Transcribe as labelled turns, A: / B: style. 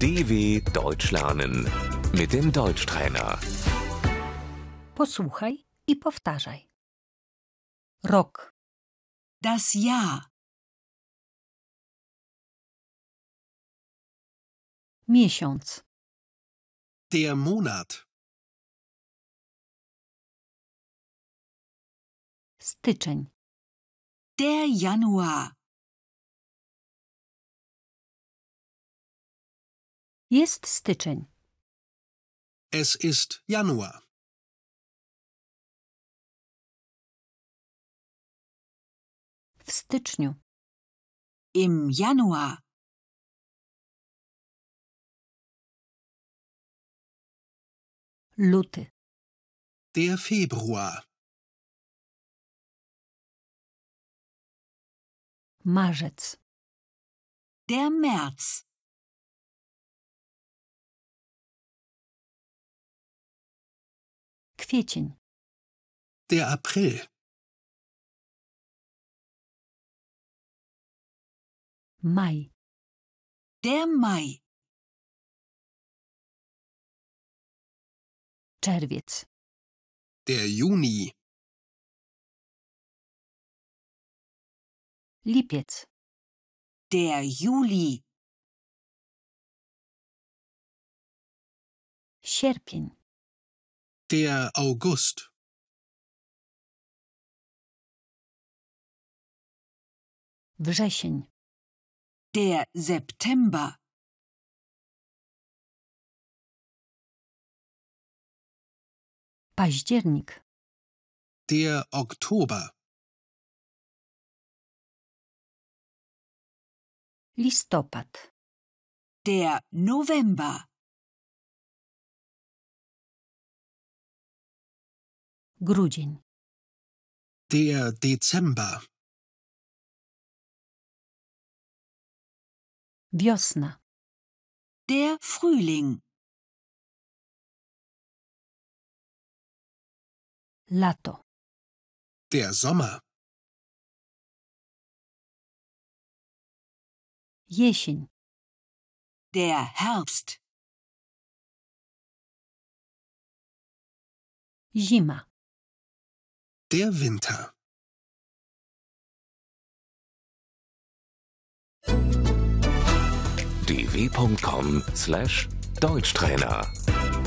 A: DW Deutsch lernen mit dem Deutschtrainer.
B: Posłuchaj i powtarzaj. Rok,
C: Das Jahr,
B: miesiąc,
D: Der Monat.
B: styczeń,
C: der Januar,
B: jest styczeń,
D: Es ist Januar.
B: w styczniu,
C: im Januar,
B: luty,
D: Der Februar.
B: marzec,
C: der März,
B: kwiecień,
D: Der April.
B: maj,
C: der Mai,
B: czerwiec,
D: Der Juni.
B: lipiec,
C: der Juli,
B: sierpień,
D: Der August.
B: wrzesień,
C: der September,
B: październik,
D: Der Oktober.
B: listopad,
C: der November,
B: grudzień,
D: Der Dezember.
B: wiosna,
C: der Frühling,
B: lato,
D: Der Sommer.
B: jesień,
C: der Herbst,
B: zima,
D: Der Winter.
A: dw.com/Deutschtrainer